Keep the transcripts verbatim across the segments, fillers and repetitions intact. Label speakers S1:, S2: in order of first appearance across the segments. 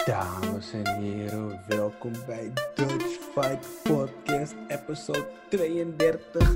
S1: Dames en heren, welkom bij Dutch Fight Podcast, episode tweeëndertig.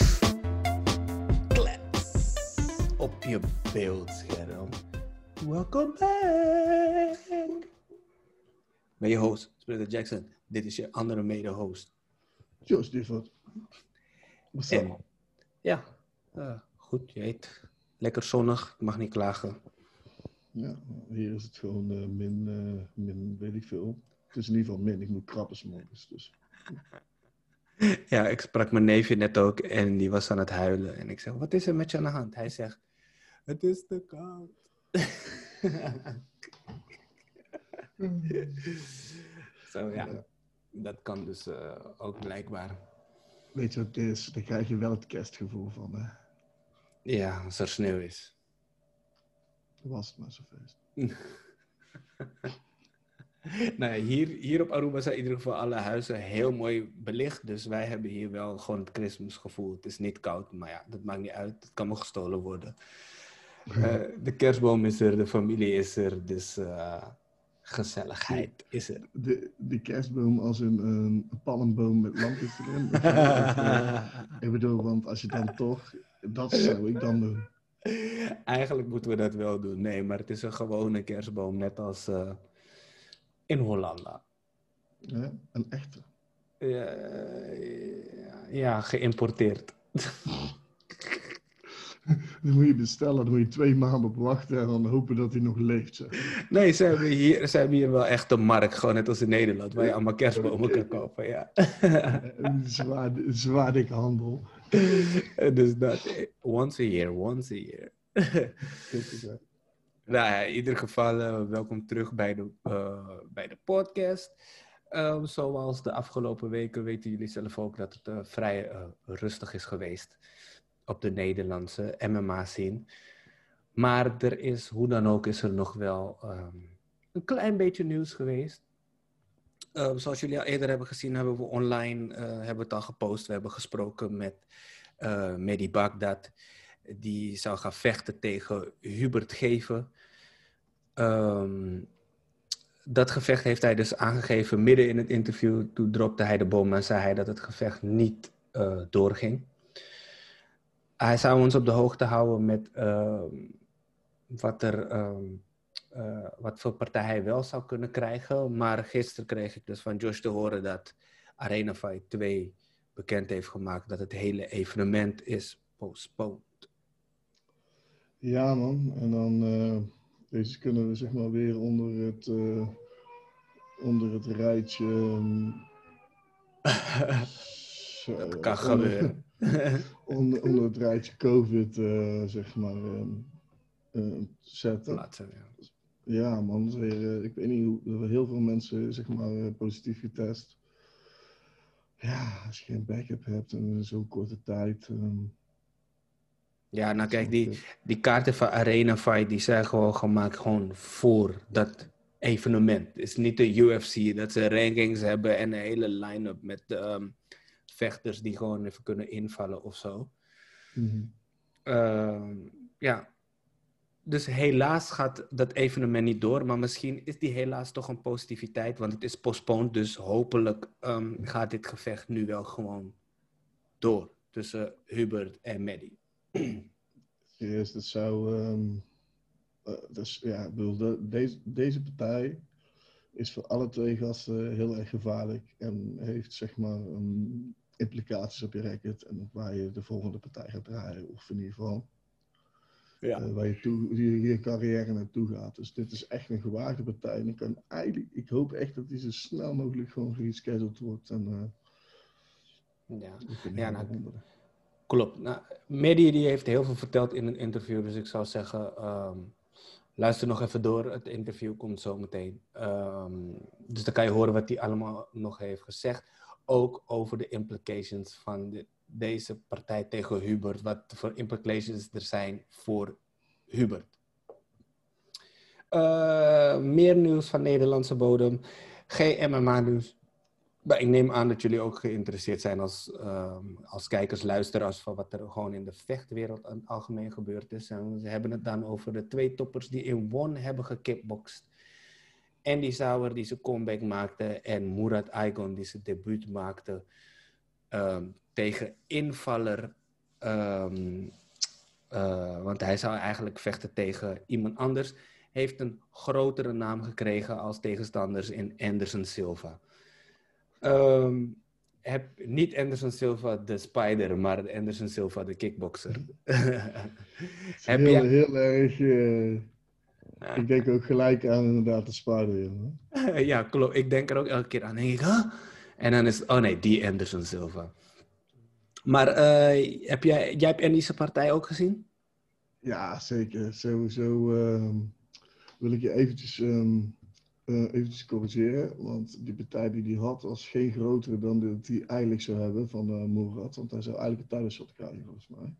S1: Klets op je beeldscherm. Welkom back. Ben je host, Splitter Jackson. Dit is je andere mede-host.
S2: Joost Difford. What's up?
S1: Ja, uh, goed, je weet. Lekker zonnig, ik mag niet klagen.
S2: Ja, hier is het gewoon uh, min, uh, min, weet ik veel. Het is in ieder geval min, ik moet krabben 's morgens, dus.
S1: Ja, ik sprak mijn neefje net ook en die was aan het huilen. En ik zeg, wat is er met je aan de hand? Hij zegt, het is te koud. Zo ja, ja, dat kan dus uh, ook blijkbaar.
S2: Weet je wat het is? Daar krijg je wel het kerstgevoel van, hè?
S1: Ja, als er sneeuw is.
S2: Was het maar zo feest.
S1: Nou ja, hier, hier op Aruba zijn in ieder geval alle huizen heel mooi belicht. Dus wij hebben hier wel gewoon het Christmasgevoel. Het is niet koud, maar ja, dat maakt niet uit. Het kan nog gestolen worden. Uh, de kerstboom is er, de familie is er, dus uh, gezelligheid is er.
S2: De, de kerstboom als een, een palmboom met lampjes erin. Ik, uh, ik bedoel, want als je dan toch, dat zou ik dan doen.
S1: Eigenlijk moeten we dat wel doen. Nee, maar het is een gewone kerstboom, net als uh, in Hollanda.
S2: Ja, een echte.
S1: Ja, ja, geïmporteerd.
S2: Dan moet je bestellen, dan moet je twee maanden op wachten en dan hopen dat hij nog leeft. Zeg.
S1: Nee, ze hebben, hier, ze hebben hier wel echt een markt, gewoon net als in Nederland, waar je allemaal kerstbomen kan kopen. Ja.
S2: Zwaar, zwaar dikke handel.
S1: Dus dat, once a year, once a year. Nou ja, in ieder geval, uh, welkom terug bij de, uh, bij de podcast. Uh, zoals de afgelopen weken weten jullie zelf ook dat het uh, vrij uh, rustig is geweest op de Nederlandse M M A-scene. Maar er is, hoe dan ook, is er nog wel um, een klein beetje nieuws geweest. Uh, zoals jullie al eerder hebben gezien, hebben we online, uh, hebben we het al gepost. We hebben gesproken met uh, Mehdi Baghdad. Die zou gaan vechten tegen Hubert Geven. Um, dat gevecht heeft hij dus aangegeven midden in het interview. Toen dropte hij de bom en zei hij dat het gevecht niet uh, doorging. Hij zou ons op de hoogte houden met uh, wat, er, um, uh, wat voor partij hij wel zou kunnen krijgen. Maar gisteren kreeg ik dus van Josh te horen dat Arena Fight twee bekend heeft gemaakt dat het hele evenement is postponed.
S2: Ja man, en dan uh, deze kunnen we zeg maar weer onder het, uh, onder het rijtje... Um,
S1: zo, dat kan gebeuren.
S2: onder, onder het rijtje COVID, uh, zeg maar, um, uh, zetten.
S1: Plaatsen, ja.
S2: Ja man, dat is weer, uh, ik weet niet hoe, heel veel mensen zeg maar uh, positief getest. Ja, als je geen backup hebt in zo'n korte tijd... Um,
S1: Ja, nou kijk, die, die kaarten van Arena Fight, die zijn gewoon gemaakt gewoon voor dat evenement. Het is niet de U F C, dat ze rankings hebben en een hele line-up met um, vechters die gewoon even kunnen invallen of zo.
S2: Mm-hmm.
S1: Uh, ja, dus helaas gaat dat evenement niet door, maar misschien is die helaas toch een positiviteit, want het is postponed, dus hopelijk um, gaat dit gevecht nu wel gewoon door tussen Hubert en Mehdi.
S2: Serieus, dat zou... Um, uh, dus, ja, ik bedoel, de, deze, deze partij is voor alle twee gasten heel erg gevaarlijk en heeft zeg maar um, implicaties op je record en op waar je de volgende partij gaat draaien, of in ieder geval ja. uh, waar je, toe, je, je carrière naartoe gaat. Dus dit is echt een gewaagde partij en ik, kan eigenlijk, ik hoop echt dat die zo snel mogelijk gewoon gerescheduled wordt en uh,
S1: ja, ja nou, klopt. Nou, Mehdi die heeft heel veel verteld in een interview, dus ik zou zeggen, um, luister nog even door. Het interview komt zo meteen. Um, dus dan kan je horen wat hij allemaal nog heeft gezegd. Ook over de implications van de, deze partij tegen Hubert. Wat voor implications er zijn voor Hubert. Uh, meer nieuws van Nederlandse bodem. Geen M M A nieuws. Maar ik neem aan dat jullie ook geïnteresseerd zijn als, um, als kijkers, luisteraars van wat er gewoon in de vechtwereld aan het algemeen gebeurd is. En ze hebben het dan over de twee toppers die in One hebben gekickboxed. Andy Souwer die zijn comeback maakte en Murat Aygon die zijn debuut maakte um, tegen invaller. Um, uh, want hij zou eigenlijk vechten tegen iemand anders. Heeft een grotere naam gekregen als tegenstanders in Anderson Silva. Um, heb niet Anderson Silva de Spider, maar Anderson Silva de kickboxer.
S2: heb heel, jij... heel erg... Uh... Ik denk ook gelijk aan inderdaad de Spider.
S1: Ja, klopt. Ik denk er ook elke keer aan. Denk ik, huh? En dan is het, oh nee, die Anderson Silva. Maar uh, heb jij, jij hebt Andy's partij ook gezien?
S2: Ja, zeker. Sowieso uh, wil ik je eventjes, um, uh, eventjes corrigeren. Want die partij die hij had was geen grotere dan dat hij eigenlijk zou hebben van uh, Murat. Want hij zou eigenlijk een title shot krijgen volgens mij.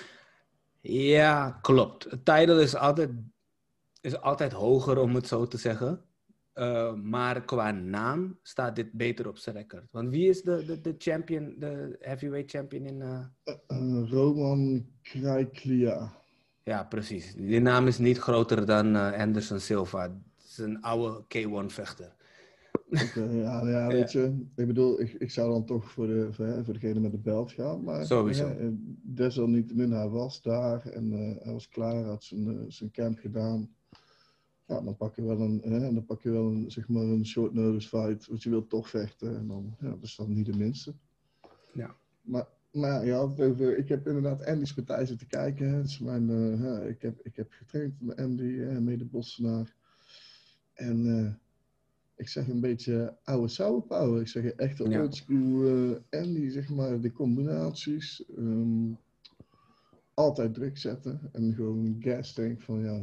S1: Ja, klopt. Het title is altijd... is altijd hoger, om het zo te zeggen. Uh, maar qua naam staat dit beter op zijn record. Want wie is de, de, de champion, de heavyweight champion in... Uh...
S2: Uh, uh, Roman Krajklia.
S1: Ja, precies. Die naam is niet groter dan uh, Anderson Silva. Het is een oude K één vechter.
S2: Okay, ja, ja, weet ja. je. Ik bedoel, ik, ik zou dan toch voor, de, voor, voor degene met de belt gaan. Maar
S1: sowieso.
S2: Uh, desalniettemin, hij was daar en uh, hij was klaar, had zijn, uh, zijn camp gedaan. Ja, dan pak je wel een, hè, dan pak je wel een, zeg maar een short notice fight, want je wilt toch vechten. En dan, ja, dat is dan niet de minste.
S1: Ja.
S2: Maar, maar ja, over, ik heb inderdaad Andy's partij zitten kijken. Het is mijn, uh, ja, ik, heb, ik heb getraind met Andy, uh, mede-Bossenaar. En uh, ik zeg een beetje oude sour power. Ik zeg echt een ja. oldschool uh, Andy, zeg maar, de combinaties. Um, altijd druk zetten en gewoon gas tank van ja...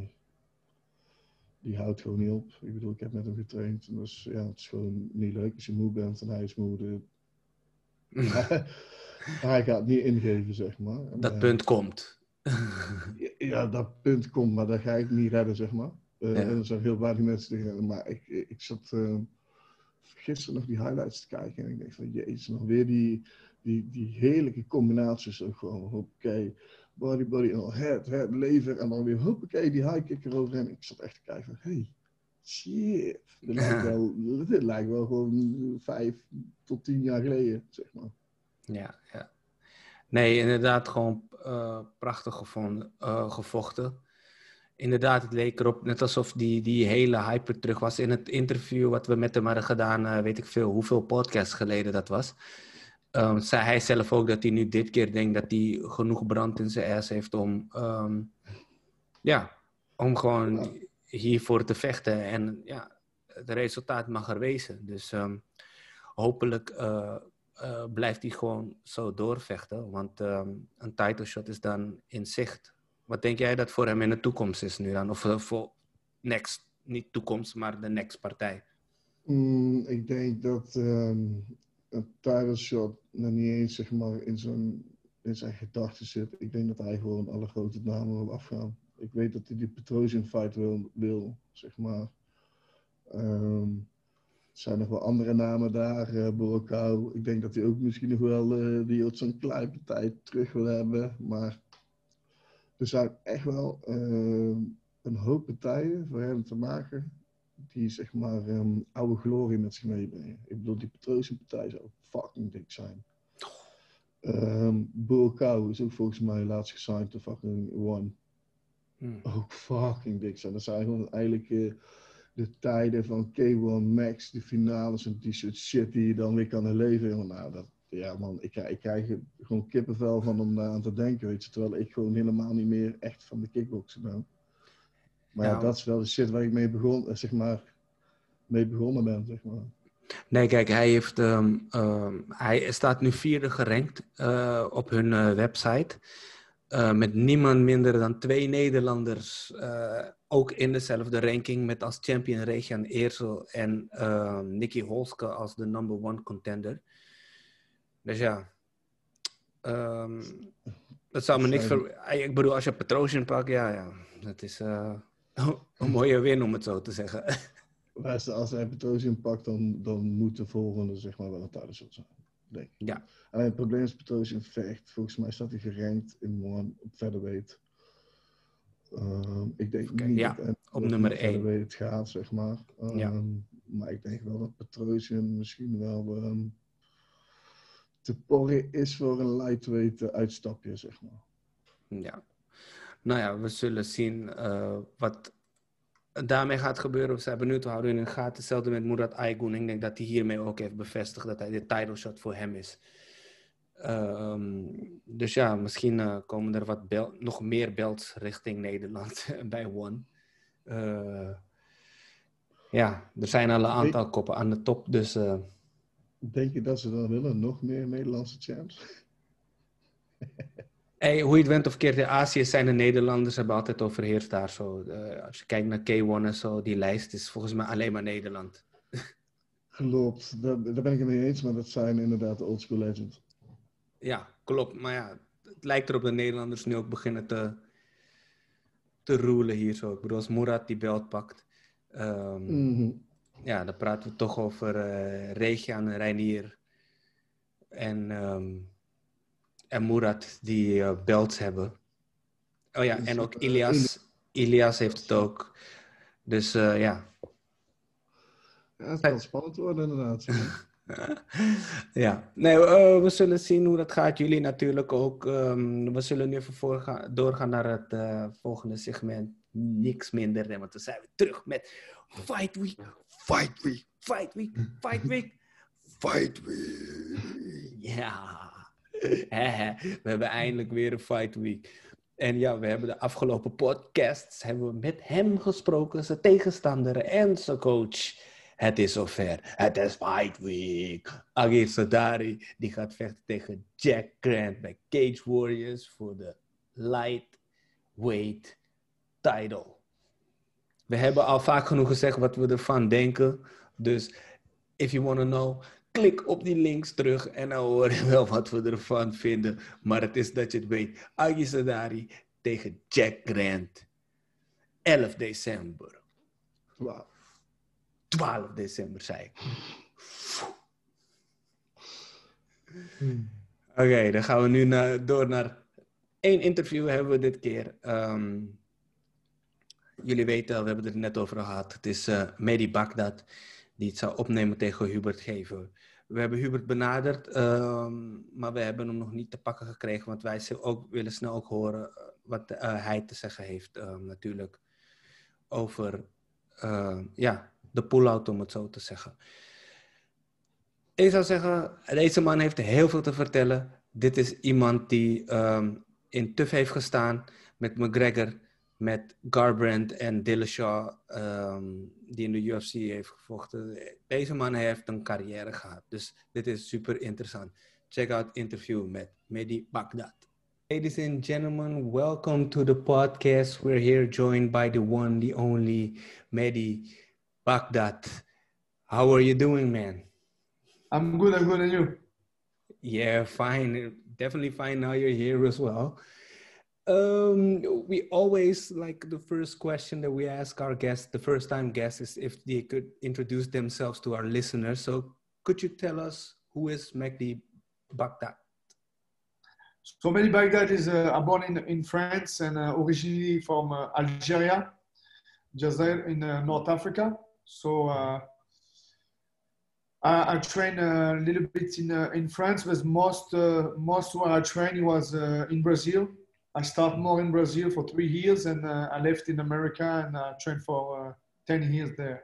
S2: Die houdt gewoon niet op. Ik bedoel, ik heb met hem getraind. En dus, ja, het is gewoon niet leuk als je moe bent en hij is moe. De... hij gaat niet ingeven, zeg maar. En,
S1: dat
S2: uh,
S1: punt komt.
S2: ja, dat punt komt, maar dat ga ik niet redden, zeg maar. Uh, ja. En er zijn heel weinig mensen die redden. Maar ik, ik zat uh, gisteren nog die highlights te kijken. En ik denk van, jezus, nog weer die, die, die heerlijke combinaties. Ook gewoon, oké. Okay. Body, body, en dan head, head, lever. En dan weer, hoppakee, die high kick eroverheen. Ik zat echt te kijken van, hey, shit. Dit lijkt wel, dit lijkt wel gewoon vijf tot tien jaar geleden, zeg maar.
S1: Ja, ja. Nee, inderdaad gewoon uh, prachtig gevonden, uh, gevochten. Inderdaad, het leek erop net alsof die, die hele hype terug was. In het interview wat we met hem hadden gedaan, uh, weet ik veel, hoeveel podcasts geleden dat was. Um, zei hij zelf ook dat hij nu dit keer denkt dat hij genoeg brand in zijn ass heeft om, um, ja, om gewoon ja. hiervoor te vechten. En ja, het resultaat mag er wezen. Dus um, hopelijk uh, uh, blijft hij gewoon zo doorvechten. Want um, een title shot is dan in zicht. Wat denk jij dat voor hem in de toekomst is nu dan? Of uh, voor next, niet toekomst, maar de next partij?
S2: Mm, ik denk dat um, een title shot nog niet eens zeg maar, in, zijn, in zijn gedachten zit. Ik denk dat hij gewoon alle grote namen wil afgaan. Ik weet dat hij die Petrosian fight wil, wil zeg maar. Um, er zijn nog wel andere namen daar, uh, Borokau. Ik denk dat hij ook misschien nog wel uh, die op zo'n kleine partij terug wil hebben. Maar er zijn echt wel uh, een hoop partijen voor hem te maken die zeg maar um, oude glorie met zich meebrengen. Ik bedoel, die Petrosian partij zou fucking dik zijn. Um, Borokau is ook volgens mij laatst gesigned to fucking One. Hmm. Ook fucking dik zijn. Dat zijn gewoon eigenlijk uh, de tijden van K één Max, de finales en die soort shit die je dan weer kan herleven. Nou, dat, ja man, ik, ik krijg er gewoon kippenvel van om daar aan te denken, weet je. Terwijl ik gewoon helemaal niet meer echt van de kickboksen ben. Maar ja, ja, dat is wel de shit waar ik mee begon, zeg maar, mee begonnen ben, zeg maar.
S1: Nee, kijk, hij heeft, um, um, hij staat nu vierde gerankt uh, op hun uh, website. Uh, met niemand minder dan twee Nederlanders, uh, ook in dezelfde ranking, met als champion Regan Eersel en uh, Nicky Holske als de number one contender. Dus ja, um, dat zou me niks ver... Ik bedoel, als je Petrosian pakt, ja, ja, dat is uh, een mooie win om het zo te zeggen.
S2: Als hij Petrosian pakt, dan, dan moet de volgende zeg maar wel een title shot zijn. Denk ik.
S1: Ja.
S2: Alleen het probleem is Petrosian vecht. Volgens mij staat hij gerankt in one op featherweight. Um, ik denk
S1: Okay,
S2: niet
S1: ja,
S2: dat Anthony
S1: op
S2: nog
S1: nummer
S2: verder
S1: één.
S2: weet het gaat, zeg maar. Um,
S1: Ja.
S2: Maar ik denk wel dat Petrosian misschien wel um, te porren is voor een lightweight uh, uitstapje, zeg maar.
S1: Ja. Nou ja, we zullen zien uh, wat daarmee gaat gebeuren. We zijn benieuwd, we houden in de gaten. Hetzelfde met Murat Aygun. Ik denk dat hij hiermee ook heeft bevestigd dat hij de title shot voor hem is. Um, dus ja, misschien uh, komen er wat bel- nog meer belts richting Nederland bij One. Uh, ja, er zijn al een aantal denk, koppen aan de top, dus... Uh...
S2: Denk je dat ze dan willen? Nog meer Nederlandse champs?
S1: Hey, hoe je het went of keert, in Azië zijn de Nederlanders hebben altijd overheerst daar zo. Uh, als je kijkt naar K één en zo, die lijst is volgens mij alleen maar Nederland.
S2: Klopt, daar, daar ben ik het mee eens, maar dat zijn inderdaad de oldschool legends.
S1: Ja, klopt. Maar ja, het lijkt erop dat Nederlanders nu ook beginnen te, te rulen hier zo. Ik bedoel, als Murat die belt pakt. Um, mm-hmm. Ja, dan praten we toch over uh, Regian en Reinier. En, um, en Murat die uh, belts hebben. Oh ja, dus, en ook Ilias. Uh, Ilias heeft het ook. Dus uh, ja.
S2: Ja, het kan spannend worden inderdaad.
S1: Ja, nee, uh, we zullen zien hoe dat gaat. Jullie natuurlijk ook. Um, we zullen nu even voorgaan, doorgaan naar het uh, volgende segment. Niks minder, want dan zijn we terug met Fight Week, Fight Week, Fight Week, Fight Week, Fight Week. Ja, we hebben eindelijk weer een Fight Week. En ja, we hebben de afgelopen podcasts hebben we met hem gesproken, zijn tegenstander en zijn coach. Het is zover. Het is Fight Week. Agir Sadari die gaat vechten tegen Jack Grant bij Cage Warriors voor de lightweight title. We hebben al vaak genoeg gezegd wat we ervan denken. Dus if you want to know, klik op die links terug en dan hoor je wel wat we ervan vinden. Maar het is dat je het weet. Agir Sadari tegen Jack Grant. elf december.
S2: Wauw.
S1: twaalf december, zei ik. Hmm. Oké, okay, dan gaan we nu naar, door naar één interview hebben we dit keer. Um, jullie weten al, we hebben het er net over gehad. Het is uh, Mehdi Baghdad die het zou opnemen tegen Hubert Gever. We hebben Hubert benaderd, um, maar we hebben hem nog niet te pakken gekregen. Want wij ook, willen snel ook horen wat uh, hij te zeggen heeft uh, natuurlijk over uh, ja, de pull-out, om het zo te zeggen. Ik zou zeggen, deze man heeft heel veel te vertellen. Dit is iemand die um, in T U F heeft gestaan met McGregor, met Garbrandt en Dillashaw, um, die in de U F C heeft gevochten. Deze man heeft een carrière gehad, dus dit is super interessant. Check out het interview met Mehdi Baghdad. Ladies and gentlemen, welcome to the podcast. We're here joined by the one, the only Mehdi Baghdad. How are you doing, man?
S3: I'm good, I'm good, and you?
S1: Yeah, fine. Definitely fine now you're here as well. Um, we always, like, the first question that we ask our guests, the first time guests, is if they could introduce themselves to our listeners. So could you tell us who is Mehdi Baghdad?
S3: So Mehdi Baghdad is uh, born in, in France and uh, originally from uh, Algeria, just there in uh, North Africa. So uh, I, I trained a little bit in uh, in France, but most uh, most where I trained was uh, in Brazil. I started more in Brazil for three years, and uh, I left in America and I trained for uh, ten years there.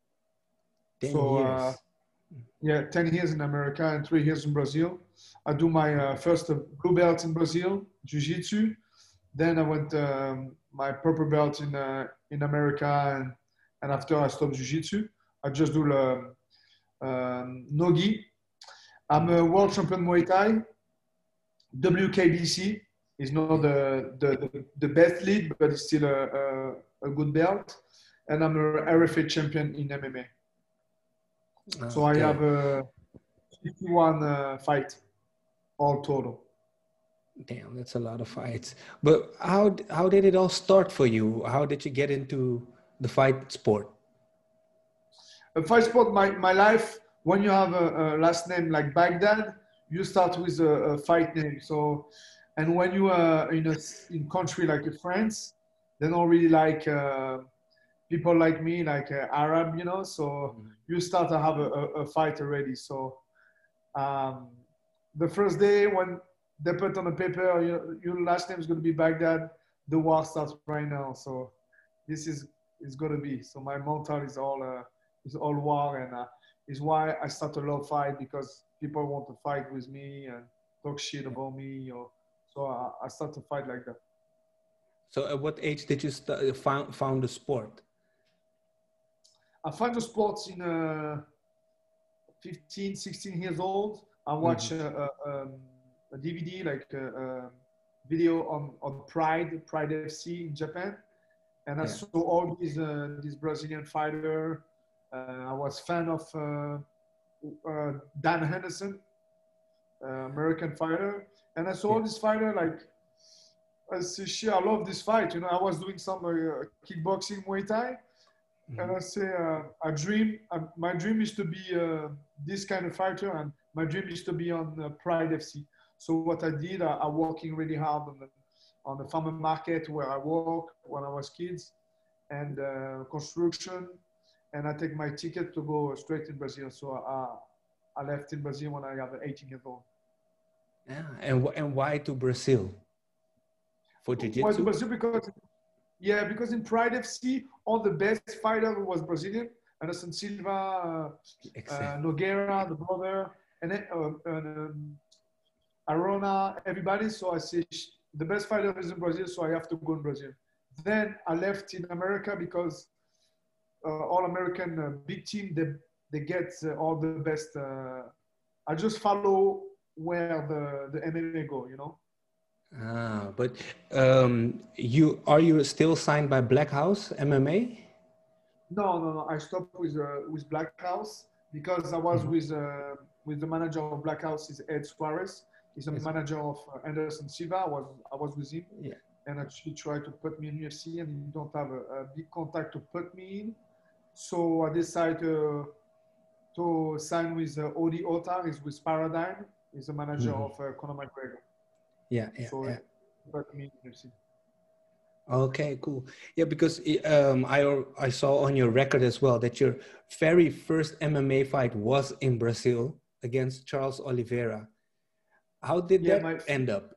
S1: Ten
S3: so,
S1: years.
S3: Uh, yeah, ten years in America and three years in Brazil. I do my uh, first uh, blue belt in Brazil, Jiu-Jitsu. Then I went um, my purple belt in uh, in America, and, and after I stopped Jiu-Jitsu, I just do the um, Nogi. I'm a world champion Muay Thai. W K B C is not the, the, the best league, but it's still a, a, a good belt. And I'm a R F A champion in M M A. Okay. So I have a fifty-one uh, fight all total.
S1: Damn, that's a lot of fights. But how how did it all start for you? How did you get into the fight sport?
S3: A fight sport, my, my life, when you have a, a last name like Baghdad, you start with a, a fight name. So, and when you are in a in country like France, they don't really like uh, people like me, like uh, Arab, you know. So
S1: Mm-hmm.
S3: you start to have a, a, a fight already. So um, the first day when they put on the paper, your, your last name is going to be Baghdad, the war starts right now. So this is is going to be. So my mental is all uh, is all war, and uh, is why I start a lot of fight, because people want to fight with me and talk shit about me. Or so I, I start to fight like that.
S1: So at what age did you st- found found the sport?
S3: I find the sports in uh, fifteen, sixteen years old. I watch
S1: Mm-hmm.
S3: a, a, um, a D V D, like a, a video on, on Pride, Pride F C in Japan. And I
S1: Yeah.
S3: saw all these, uh, these Brazilian fighter. Uh, I was fan of uh, uh, Dan Henderson, uh, American fighter. And I saw
S1: Yeah.
S3: all these fighter, like, I say, shit, I love this fight. You know, I was doing some uh, kickboxing, Muay Thai.
S1: Mm-hmm.
S3: And I say, uh, I dream, uh, my dream is to be uh, this kind of fighter, and my dream is to be on uh, Pride F C. So what I did, I, I working really hard on the, on the farmer market where I work when I was kids, and uh, construction, and I take my ticket to go straight in Brazil. So I, I left in Brazil when I was eighteen years old.
S1: Yeah. And wh- and why to Brazil? For
S3: Why to
S1: jiu-jitsu?
S3: Brazil? Because yeah, because in Pride F C, all the best fighter was Brazilian. Anderson Silva, uh, uh, Nogueira, the brother, and then uh, and, um, Arona, everybody. So I say the best fighter is in Brazil, so I have to go in Brazil. Then I left in America because uh, all American uh, big team, they they get uh, all the best. Uh, I just follow where the the M M A go, you know.
S1: Ah, but um, you are you still signed by Black House M M A?
S3: No, no, no. I stopped with uh, with Black House because I was
S1: Mhm.
S3: with uh, with the manager of Black House is Ed Suarez. He's a
S1: Yes.
S3: manager of uh, Anderson Silva. I was I was with him,
S1: Yeah.
S3: and he tried to put me in U F C, and he don't have a, a big contact to put me in. So I decided uh, to sign with uh, Odi Otar. He's with Paradigm. He's a manager
S1: Mhm.
S3: of uh, Conor McGregor.
S1: Yeah, yeah,
S3: So
S1: yeah.
S3: he put me in U F C.
S1: Okay, cool. Yeah, because um, I al- I saw on your record as well that your very first M M A fight was in Brazil against Charles Oliveira. How did
S3: Yeah,
S1: that
S3: my
S1: end up?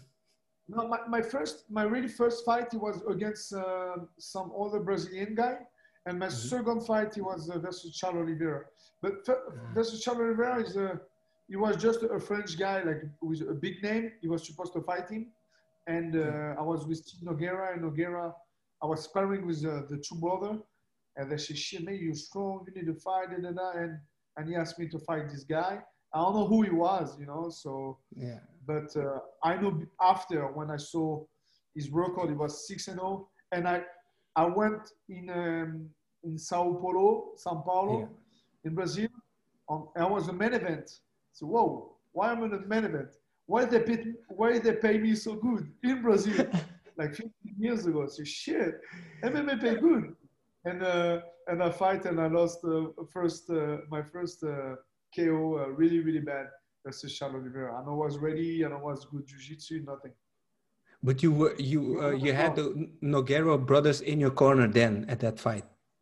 S3: no, my, my first, my really first fight, it was against uh, some other Brazilian guy, and my
S1: Mhm.
S3: second fight, it was uh, versus Charles Oliveira. But f- versus Charles Oliveira is a, he was just a French guy, like with a big name. He was supposed to fight him, and uh,
S1: Yeah.
S3: I was with Tim Nogueira, and Nogueira, I was sparring with uh, the two brother, and they said, "Shit, man, you're strong. You need to fight." Da, da, da. And and he asked me to fight this guy. I don't know who he was, you know, so.
S1: Yeah.
S3: But uh, I know after when I saw his record, it was six and zero, and I I went in um, in Sao Paulo, São Paulo,
S1: Yeah.
S3: in Brazil. On, I was a main event. So whoa, why am I in a main event? Why they pay why they pay me so good in Brazil, like fifteen years ago? So shit, M M A pay good, and uh, and I fight and I lost uh, first uh, my first uh, K O uh, really really bad. Versus Charles Oliveira. And I was ready and I was good jiu-jitsu, nothing.
S1: But you were you uh, you had the Nogueira brothers in your corner then at that fight.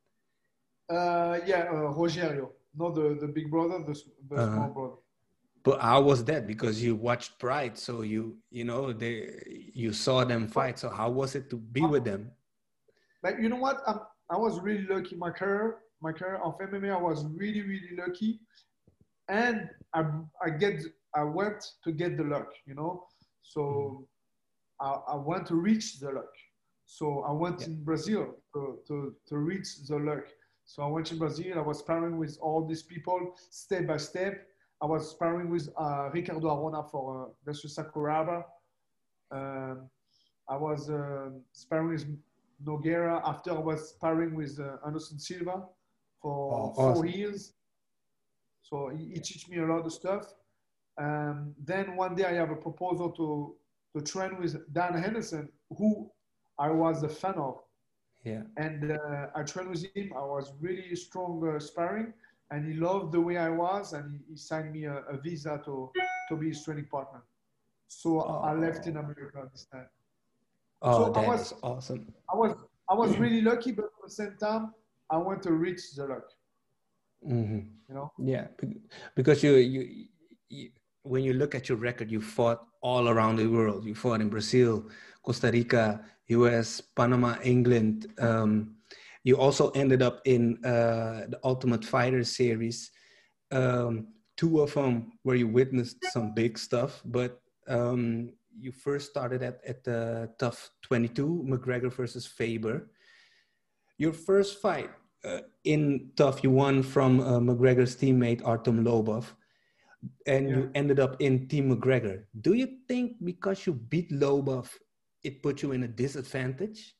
S3: Uh, yeah, uh, Rogerio, not the, the big brother, the, the
S1: Uh,
S3: small brother.
S1: but how was that? Because you watched Pride, so you you know they you saw them fight. So how was it to be with them?
S3: Like you know what? I'm, I was really lucky. My career, my career of M M A, I was really really lucky, and I I get I went to get the luck, you know. So I, I want to reach the luck. So I went
S1: Yeah.
S3: in Brazil to, to, to reach the luck. So I went in Brazil. I was sparring with all these people step by step. I was sparring with uh, Ricardo Arona for uh, versus Sakuraba. Um, I was uh, sparring with Nogueira. After I was sparring with uh, Anderson Silva for
S1: Oh,
S3: four
S1: awesome.
S3: years. So he, he teach me a lot of stuff. Um, then one day I have a proposal to to train with Dan Henderson, who I was a fan of.
S1: Yeah.
S3: And uh, I trained with him. I was really strong uh, sparring, and he loved the way I was, and he, he signed me a, a visa to, to be his training partner. So I left in
S1: Oh.
S3: America this time.
S1: Oh,
S3: So I
S1: that
S3: was,
S1: is awesome.
S3: I was, I was really lucky, but at the same time, I want to reach the luck.
S1: Mm-hmm.
S3: You know?
S1: Yeah, be- because you, you you when you look at your record, you fought all around the world. You fought in Brazil, Costa Rica, U S, Panama, England. Um, you also ended up in uh, the Ultimate Fighter series. Um, two of them where you witnessed some big stuff, but um, you first started at at the Tough twenty-two, McGregor versus Faber. Your first fight uh, in Tough, you won from uh, McGregor's teammate Artem Lobov, and
S3: Yeah.
S1: you ended up in Team McGregor. Do you think because you beat Lobov, it put you in a disadvantage?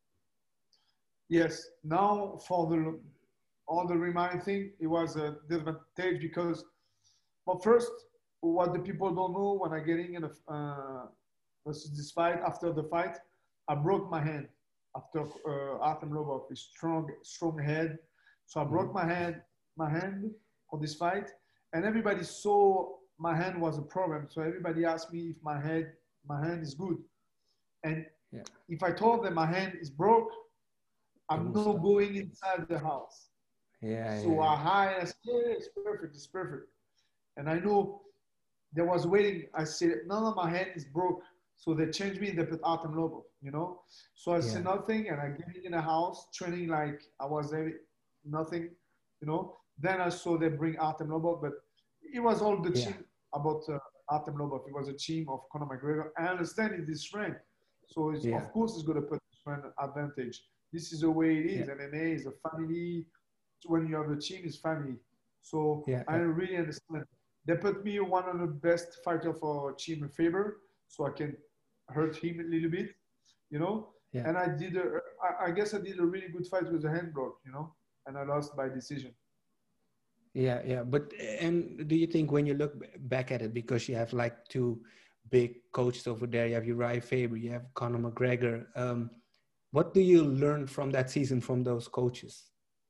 S3: Yes. Now for the all the remind thing, it was a disadvantage because, well, first, what the people don't know when I getting in a uh, this fight after the fight, I broke my hand after uh, Artem Lobov, his strong strong head. So I broke my hand my hand for this fight, and everybody saw my hand was a problem. So everybody asked me if my head my hand is good, and
S1: Yeah.
S3: if I told them my hand is broke,
S1: They
S3: I'm
S1: will
S3: not
S1: stop.
S3: going inside the house.
S1: Yeah,
S3: So
S1: yeah,
S3: I hide. I said, yeah, it's perfect. It's perfect. And I know there was waiting. I said, no, no, my hand is broke. So they changed me. They put Artem Lobov, you know. So I
S1: yeah,
S3: said nothing, and I get in the house training like I was there, nothing, you know. Then I saw they bring Artem Lobov, but it was all the
S1: yeah,
S3: team about uh, Artem Lobov. It was a team of Conor McGregor. I understand it is strength, so it's,
S1: yeah,
S3: of course it's going to put strength advantage. This is the way it
S1: yeah,
S3: is. M M A is a family. When you have a team, it's family. So
S1: yeah,
S3: I
S1: yeah,
S3: really understand. They put me one of the best fighter for Team Faber, so I can hurt him a little bit, you know.
S1: yeah.
S3: And I did, a, I, I guess I did a really good fight with the hand block, you know, and I lost by decision.
S1: Yeah, yeah. But and do you think when you look b- back at it, because you have like two big coaches over there, you have Uriah Faber, you have Conor McGregor. Um, what do you learn from that season from those coaches?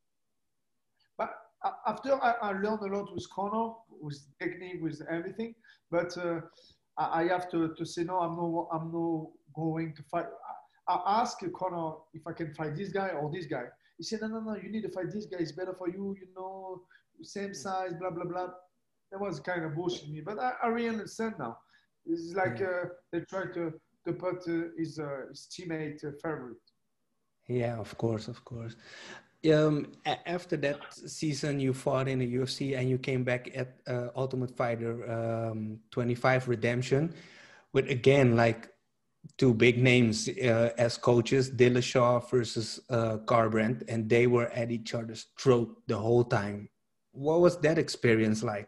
S3: But after I, I learned a lot with Conor, with technique, with everything. But uh, I, I have to, to say no. I'm no. I'm no going to fight. I, I asked Conor if I can fight this guy or this guy. He said, no, no, no. You need to fight this guy. It's better for you. You know, same size. Blah blah blah. That was kind of bullshit me. But I, I really understand now. It's like
S1: Yeah,
S3: uh, they try to to put uh, his uh, his teammate uh, favorite.
S1: yeah, of course, of course. Um, a- after that season, you fought in the U F C and you came back at uh, Ultimate Fighter um, twenty-five Redemption with again like two big names uh, as coaches, Dillashaw versus uh, Garbrandt, and they were at each other's throat the whole time. What was that experience like?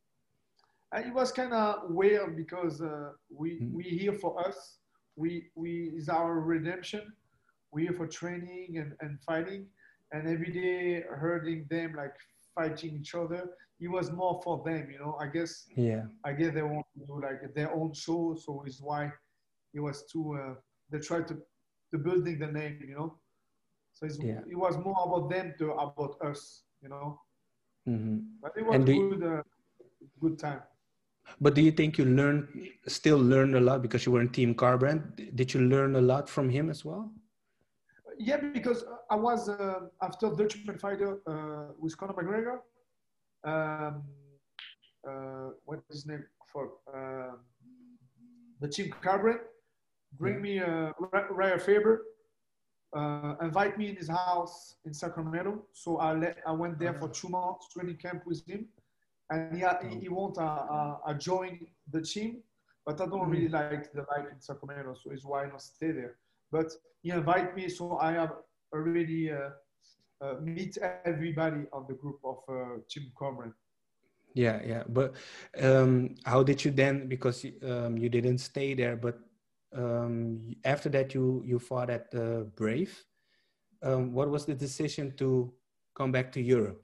S3: And it was kind of weird because uh, we
S1: Mm.
S3: we here for us. We we is our redemption. We here for training and, and fighting, and every day hurting them like fighting each other. It was more for them, you know. I guess
S1: Yeah,
S3: I guess they want to do like their own show, so it's why it was too. Uh, they tried to to building the name, you know. So it's,
S1: yeah.
S3: it was more about them to about us, you know.
S1: Hmm.
S3: But it was
S1: And do you,
S3: good, uh, good time.
S1: but do you think you learned still learned a lot because you were in Team Garbrandt? Did you learn a lot from him as well?
S3: Yeah, because I was uh, after the Ultimate Fighter uh, with Conor McGregor. Um, uh, what is his name? For uh, the Team Carbon
S1: Yeah.
S3: bring me uh, Raya Faber, uh, invite me in his house in Sacramento. So I let I went there for two months training camp with him, and he he,
S1: Oh.
S3: he want uh, uh, I join the team, but I don't really
S1: Mm.
S3: like the life in Sacramento, so it's why not stay there. But he invite me, so I have already uh, uh, meet everybody on the group of uh, Team Cormoran.
S1: Yeah, yeah. But um, how did you then? Because um, you didn't stay there, but um, after that, you you fought at uh, Brave. Um, what was the decision to come back to Europe?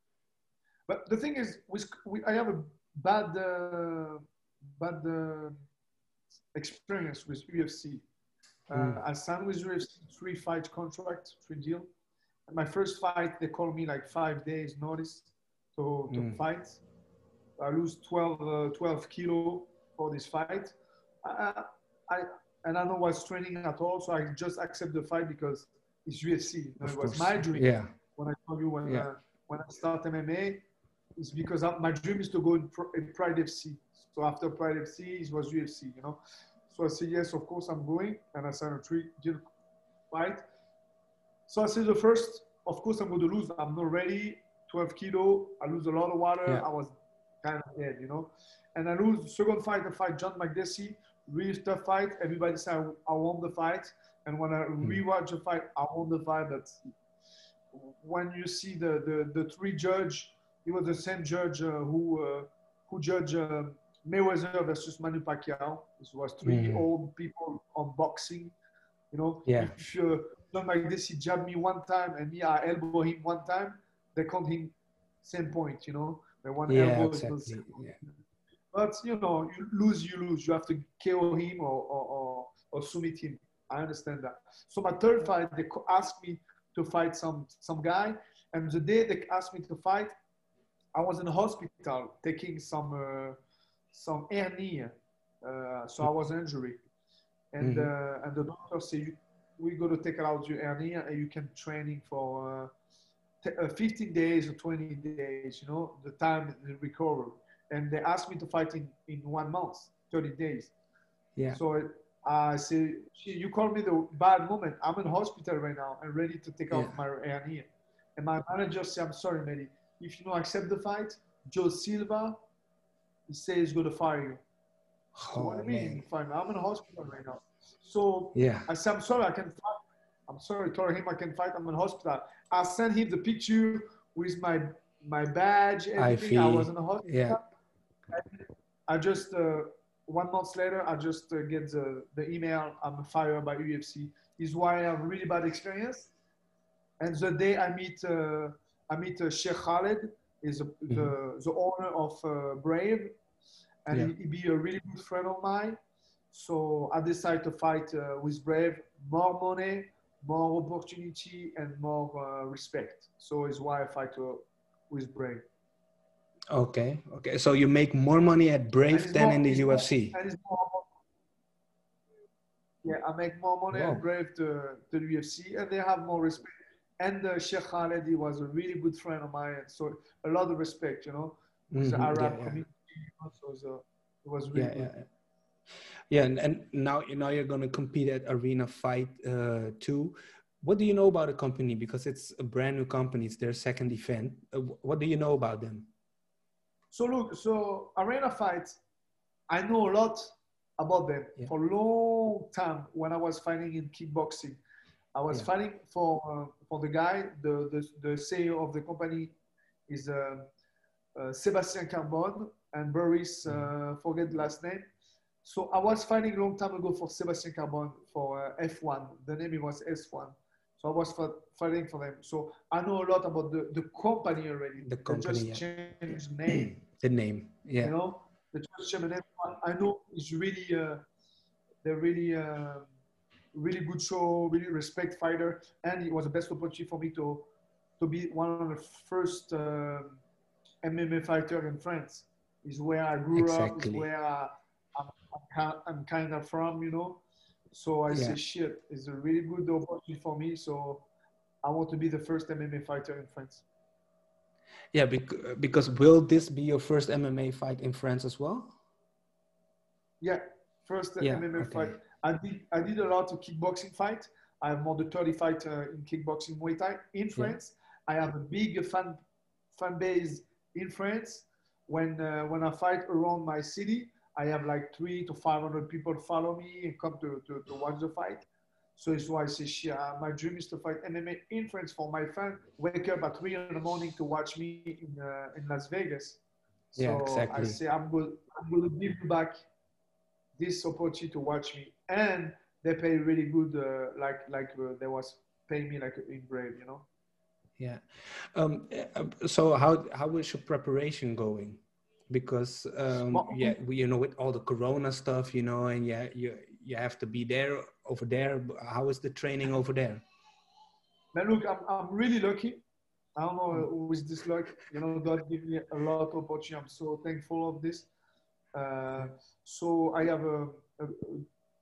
S3: But the thing is, with, we, I have a bad, uh, bad uh, experience with U F C. Uh,
S1: Mm.
S3: I signed with U F C three fight contract, three deal. And my first fight, they called me like five days notice to, to
S1: Mm.
S3: fight. I lose twelve, uh, twelve kilo for this fight. I, I, I and I don't was training at all, so I just accept the fight because it's U F C. You know,
S1: Of
S3: it was
S1: course.
S3: my dream.
S1: Yeah.
S3: When I told you when
S1: Yeah.
S3: uh, when I start M M A, it's because I, my dream is to go in, in Pride F C. So after Pride F C, it was U F C. You know, so I said yes, of course I'm going, and I signed a three-deal fight. So I said the first, of course I'm going to lose. I'm not ready. twelve kilo. I lose a lot of water.
S1: Yeah.
S3: I was kind of dead, you know. And I lose the second fight. I fight John McDessie. Really tough fight. Everybody said I, I won the fight. And when I rewatch the fight, I won the fight. But when you see the the, the three judge, it was the same judge uh, who uh, who judged uh, Mayweather versus Manny Pacquiao. This was three
S1: Mhm.
S3: old people on boxing. You know,
S1: Yeah.
S3: if uh, John McDessie jabbed me one time and me I elbow him one time, they count him same point. You know, the one
S1: Yeah,
S3: elbow is
S1: exactly.
S3: the
S1: Yeah.
S3: but you know, you lose, you lose. You have to K O him or, or, or, or submit him. I understand that. So my third fight, they asked me to fight some some guy, and the day they asked me to fight, I was in the hospital taking some uh, some hernia, uh, so I was injured, and
S1: Mhm.
S3: uh, and the doctor said you, we got to take out your hernia and you can training for uh, t- uh, fifteen days or twenty days. You know the time to recover. And they asked me to fight in, in one month, thirty days.
S1: Yeah.
S3: So I say, you call me the bad moment. I'm in hospital right now and ready to take
S1: Yeah.
S3: out my hernia. And my manager said, I'm sorry, Mehdi. If you don't accept the fight, Joe Silva, he says he's going to fire you. So what do
S1: Oh,
S3: you mean?
S1: man.
S3: Fine. I'm in hospital right now. So
S1: Yeah.
S3: I said, I'm sorry, I can fight. I'm sorry, told him I can fight. I'm in hospital. I sent him the picture with my my badge, everything. I was in the hospital.
S1: Yeah.
S3: I just uh, one month later, I just uh, get the, the email. I'm fired by U F C. Is why I have really bad experience. And the day I meet uh, I meet uh, Sheikh Khaled, is uh,
S1: Mhm.
S3: the the owner of uh, Brave, and
S1: Yeah.
S3: he, he be a really good friend of mine. So I decided to fight uh, with Brave. More money, more opportunity, and more uh, respect. So it's why I fight uh, with Brave.
S1: Okay. Okay. So you make more money at
S3: And
S1: Brave
S3: it's
S1: than
S3: more,
S1: in the
S3: it's more,
S1: U F C.
S3: and it's more. Yeah, I make more money
S1: Wow.
S3: at Brave to, to the U F C, and they have more respect. And uh, Sheikh Khaled, he was a really good friend of mine, so a lot of respect, you know, with the
S1: Mhm.
S3: Arab
S1: Yeah. Yeah.
S3: community. So it was, uh, it was really
S1: Yeah.
S3: good.
S1: Yeah. Yeah. And, and now now you're gonna compete at Arena Fight uh, two. What do you know about the company? Because it's a brand new company. It's their second event. Uh, wh- what do you know about them?
S3: So look, so Arena Fight, I know a lot about them
S1: Yeah.
S3: for a long time when I was fighting in kickboxing. I was
S1: Yeah.
S3: fighting for uh, for the guy, the, the the C E O of the company is uh, uh, Sébastien Carbone and Boris, uh, forget the last name. So I was fighting a long time ago for Sébastien Carbone for uh, F one. The name was S one. So I was fighting for them. So I know a lot about the, the company already.
S1: The
S3: They
S1: company.
S3: just
S1: Yeah.
S3: changed name.
S1: The name. Yeah.
S3: You know, they just changed the name. I know it's really, uh, they're really, uh, really good show, really respect fighter, and it was the best opportunity for me to to be one of the first uh, M M A fighter in France. Is where I grew up. Is
S1: Exactly.
S3: where I, I'm, I'm, I'm kind of from, you know. So I
S1: Yeah.
S3: say, shit, it's a really good opportunity for me. So I want to be the first M M A fighter in France.
S1: Yeah, bec- because will this be your first M M A fight in France as well?
S3: Yeah, first uh,
S1: Yeah,
S3: M M A
S1: okay.
S3: fight. I did I did a lot of kickboxing fight. I have more than thirty fights uh, in kickboxing Muay Thai in France. I have a big fan fan base in France. When uh, when I fight around my city, I have like three to five hundred people follow me and come to, to, to watch the fight. So it's why I say, yeah, my dream is to fight M M A in France for my fan. Wake up at three in the morning to watch me in uh, in Las Vegas. So
S1: Yeah,
S3: I
S1: exactly.
S3: say I'm going I'm going to give you back this opportunity to watch me, and they pay really good, uh, like like uh, they was paying me like in Brave, you know.
S1: Yeah. Um, uh, so how how is your preparation going? Because um,
S3: But,
S1: yeah, we, you know, with all the Corona stuff, you know, and yeah, you you have to be there over there. How is the training over there?
S3: man, look, I'm I'm really lucky. I don't know with this luck, you know, God give me a lot of opportunity. I'm so thankful of this. Uh, so I have a, a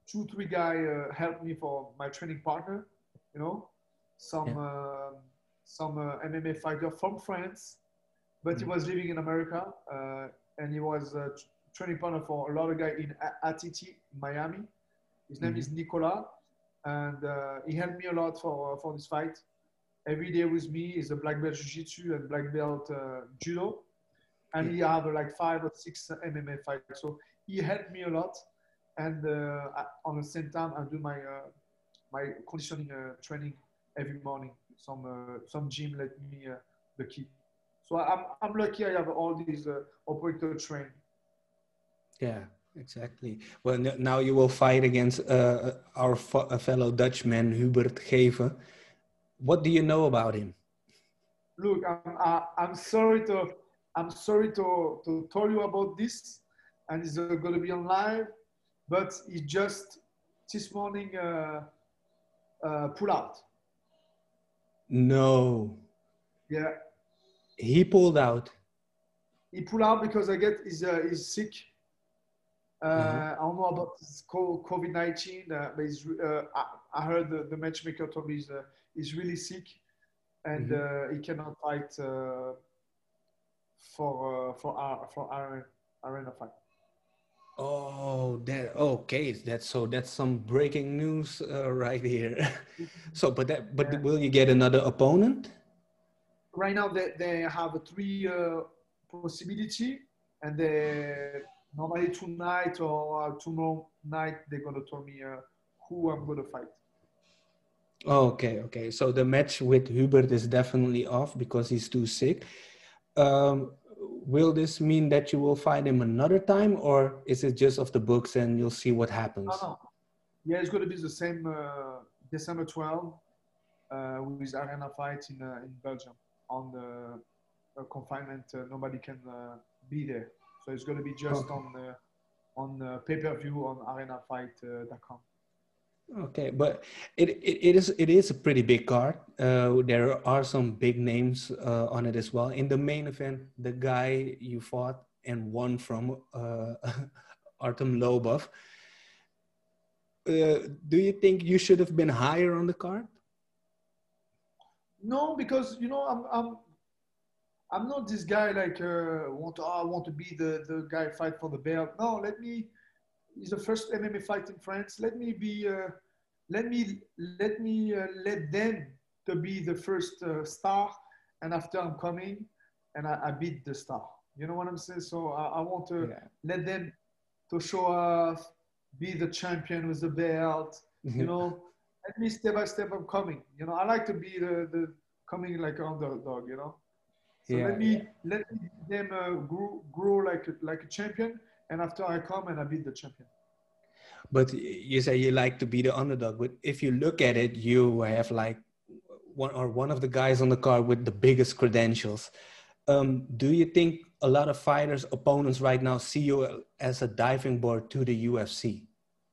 S3: two, three guy uh, helped me for my training partner, you know, some
S1: Yeah.
S3: uh, some uh, M M A fighter from France, but he
S1: Mhm.
S3: was living in America, uh, and he was a t- training partner for a lot of guys in A- ATT, Miami. His name is
S1: Mhm.
S3: Nicolas, and uh, he helped me a lot for for this fight. Every day with me is a black belt jiu-jitsu and black belt uh, judo, and
S1: Yeah.
S3: he have uh, like five or six M M A fights. So he helped me a lot, and uh, I, on the same time I do my uh, my conditioning uh, training every morning. Some uh, some gym let me uh, the key. So I'm I'm lucky I have all these uh, operator trained.
S1: Yeah, exactly. Well, n- now you will fight against uh, our fo- a fellow Dutchman, Hubert Geven. What do you know about him?
S3: Look, I'm I, I'm sorry to I'm sorry to to tell you about this, and it's uh, going to be on live, but he just this morning uh, uh, pull out.
S1: No,
S3: Yeah,
S1: he pulled out.
S3: he pull out because I get he's uh, he's sick. Uh,
S1: Uh-huh.
S3: I don't know about this COVID nineteen, uh, but he's, uh, I, I heard the, the matchmaker told me he's, uh, he's really sick and
S1: Mhm.
S3: uh, he cannot fight uh, for uh, for our for our arena fight.
S1: Oh, that okay. That's so. That's some breaking news uh, right here. So, but that, but
S3: Yeah.
S1: will you get another opponent?
S3: Right now they, they have a three uh, possibility, and they normally tonight or uh, tomorrow night they're gonna tell me uh, who I'm gonna fight.
S1: Okay, okay. So the match with Hubert is definitely off because he's too sick. Um, will this mean that you will fight him another time, or is it just off the books and you'll see what
S3: No,
S1: happens?
S3: no. Yeah, it's gonna be the same uh, December twelfth uh, with arena fight in uh, in Belgium on the uh, confinement. Uh, nobody can uh, be there, so it's gonna be just
S1: Okay.
S3: on uh, on uh, pay per view on arena fight dot com.
S1: Okay, but it, it, it is it is a pretty big card. Uh, there are some big names uh, on it as well. In the main event, the guy you fought and won from, uh, Artem Lobov. Uh, do you think you should have been higher on the card?
S3: No, because you know I'm I'm I'm not this guy like uh, want to, oh, I want to be the the guy fight for the belt. No, let me. It's the first M M A fight in France. Let me be. Uh, let me let me uh, let them to be the first uh, star, and after I'm coming, and I, I beat the star. You know what I'm saying? So I, I want to
S1: Yeah.
S3: let them to show off, be the champion with the belt. You know, let me step by step. I'm coming. You know, I like to be the the coming like an underdog. You know. So let
S1: Yeah, yeah.
S3: me let me them uh, grow, grow like a, like a champion, and after I come and I beat the champion.
S1: But you say you like to be the underdog. But if you look at it, you have like one or one of the guys on the card with the biggest credentials. Um, do you think a lot of fighters, opponents right now see you as a diving board to the U F C?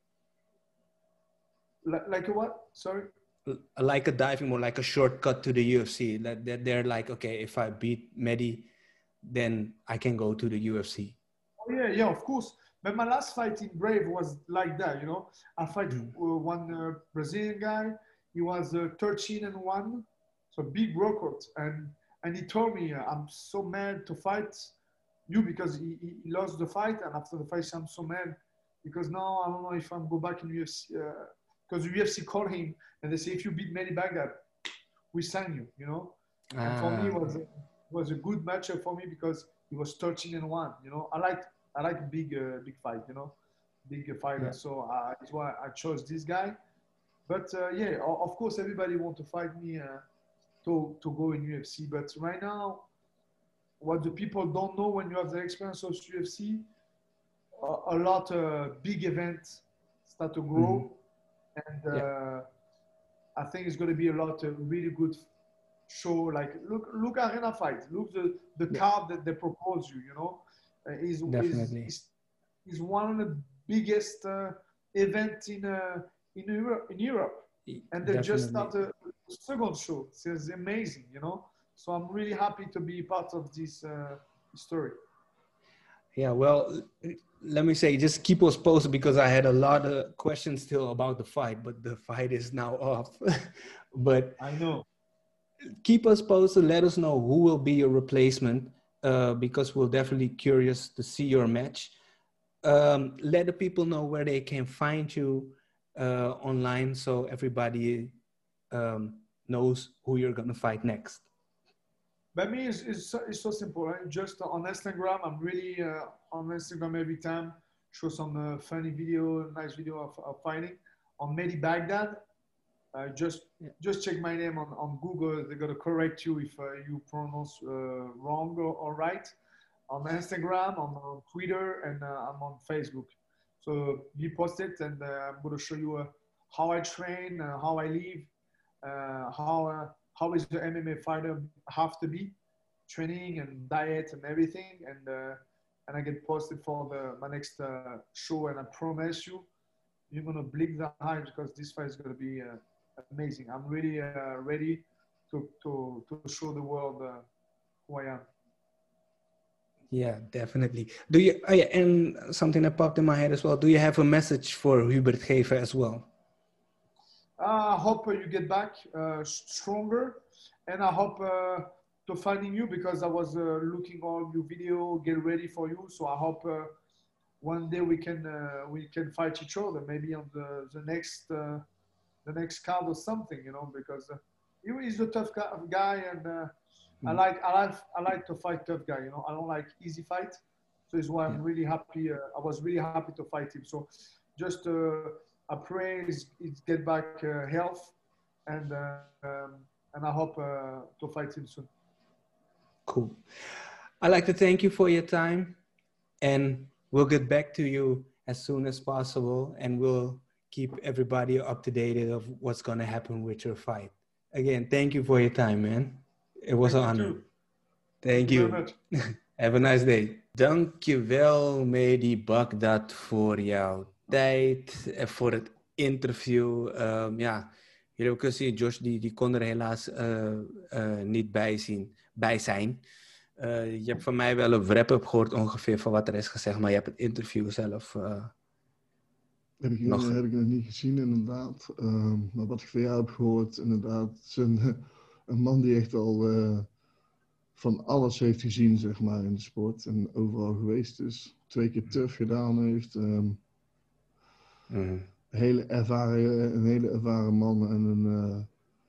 S3: Like, like a what? Sorry.
S1: Like a diving board, like a shortcut to the U F C. That, that they're like, okay, if I beat Mehdi, then I can go to the U F C.
S3: Oh yeah, yeah, of course. But my last fight in Brave was like that. You know, I fight
S1: Mm.
S3: uh, one uh, Brazilian guy. He was uh, thirteen and one, so big record. And and he told me, uh, I'm so mad to fight you because he, he he lost the fight, and after the fight, I'm so mad because now I don't know if I'm go back in U F C because uh, U F C called him and they say if you beat Manny Baghdad, we sign you. You know, and for me
S1: Ah,
S3: it was
S1: okay.
S3: was a good matchup for me because he was thirteen and one. You know, I like I like big uh, big fight. You know, big uh, fighter.
S1: Yeah.
S3: So uh, that's why I chose this guy. But uh, yeah, of course everybody want to fight me uh, to to go in U F C. But right now, what the people don't know when you have the experience of U F C, a, a lot of uh, big events start to
S1: Mm-hmm.
S3: grow, and
S1: Yeah.
S3: uh, I think it's going to be a lot of really good show. Like look, look arena fight. Look the the
S1: Yeah.
S3: card that they propose you. You know, uh, is is
S1: Definitely.
S3: is is one of the biggest uh, event in uh, in Europe. In Europe, and they just
S1: Definitely.
S3: start a second show. So it's amazing. You know, so I'm really happy to be part of this uh, story.
S1: Yeah, well, let me say, just keep us posted because I had a lot of questions still about the fight, but the fight is now off. But
S3: I know.
S1: keep us posted. Let us know who will be your replacement uh, because we're definitely curious to see your match. Um, let the people know where they can find you uh, online so everybody um, knows who you're going to fight next.
S3: But me, it's, it's, so, it's so simple. Right? Just on Instagram, I'm really uh, on Instagram every time. Show some uh, funny video, nice video of, of fighting. On Mehdi Baghdad, uh, just yeah. just check my name on, on Google. They're going to correct you if uh, you pronounce uh, wrong or, or right. On Instagram, on, on Twitter, and uh, I'm on Facebook. So you post it, and uh, I'm going to show you uh, how I train, uh, how I live, uh, how uh, how is the M M A fighter have to be, training and diet and everything, and uh, and I get posted for the my next uh, show, and I promise you, you're gonna blink the eye because this fight is gonna be uh, amazing. I'm really uh, ready to to to show the world uh, who I am.
S1: Yeah, definitely. Do you? Oh yeah, and something that popped in my head as well. Do you have a message for Hubert Gever as well?
S3: Uh, I hope uh, you get back uh, stronger, and I hope uh, to finding you because I was uh, looking all your video, get ready for you. So I hope uh, one day we can uh, we can fight each other, maybe on the the next uh, the next card or something, you know, because uh, he is a tough guy, and uh, I like I like I like to fight tough guy. You know, I don't like easy fight, so it's why I'm yeah. really happy. Uh, I was really happy to fight him. So just uh, I pray he's get back uh, health, and uh, um, and I hope uh, to fight him soon.
S1: Cool. I'd like to thank you for your time, and we'll get back to you as soon as possible, and we'll keep everybody up to date of what's going to happen with your fight. Again, thank you for your time, man. It was
S3: Thank
S1: an honor.
S3: Too.
S1: Thank, Thank you. you. Have a nice day. Dankjewel, Mehdi Baghdad, voor jouw tijd en voor het interview. Um, ja, jullie hebben kunnen zien, Josh die, die kon er helaas uh, uh, niet bij, zien, bij zijn. Uh, je hebt van mij wel een wrap-up gehoord ongeveer van wat er is gezegd, maar je hebt het interview zelf uh,
S2: heb, ik, nog... heb ik nog niet gezien, inderdaad. Uh, maar wat ik van jou heb gehoord, inderdaad, is een, een man die echt al uh, van alles heeft gezien, zeg maar, in de sport. En overal geweest is. Twee keer turf gedaan heeft. Um, mm. hele ervaren, een hele ervaren man en een, uh,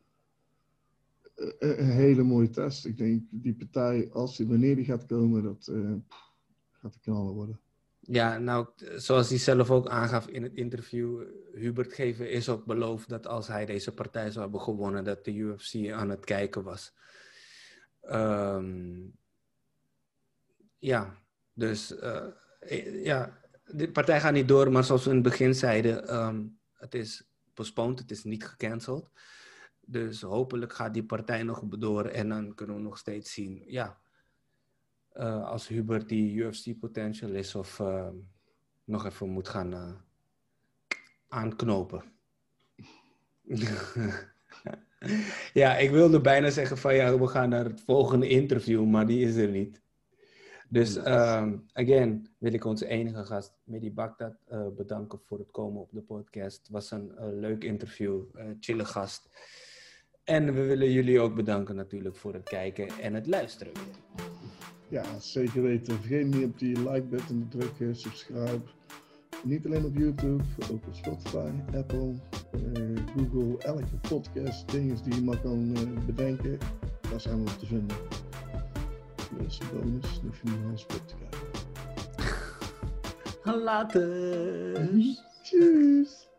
S2: een, een hele mooie test. Ik denk, die partij, als die, wanneer die gaat komen, dat uh, gaat de knallen worden.
S1: Ja, nou, zoals hij zelf ook aangaf in het interview, Hubert Gever is ook beloofd dat als hij deze partij zou hebben gewonnen, dat de U F C aan het kijken was. Um, ja, dus uh, ja, de partij gaat niet door, maar zoals we in het begin zeiden, um, het is postponed, het is niet gecanceld. Dus hopelijk gaat die partij nog door en dan kunnen we nog steeds zien, ja, uh, als Hubert die U F C potential is of uh, nog even moet gaan uh, aanknopen. Ja, ik wilde bijna zeggen van ja, we gaan naar het volgende interview, maar die is er niet. Dus um, again wil ik onze enige gast, Mehdi Baghdad, uh, bedanken voor het komen op de podcast. Het was een uh, leuk interview, uh, chille gast. En we willen jullie ook bedanken natuurlijk voor het kijken en het luisteren.
S2: Ja, zeker weten. Vergeet niet op die like-button te drukken, subscribe. Niet alleen op YouTube, ook op Spotify, Apple, uh, Google, elke podcast, dingen die je maar kan uh, bedenken, daar zijn we op te vinden. Dus bonus, dan hoef je niet naar ons te kijken.
S1: Later!
S2: Tjus!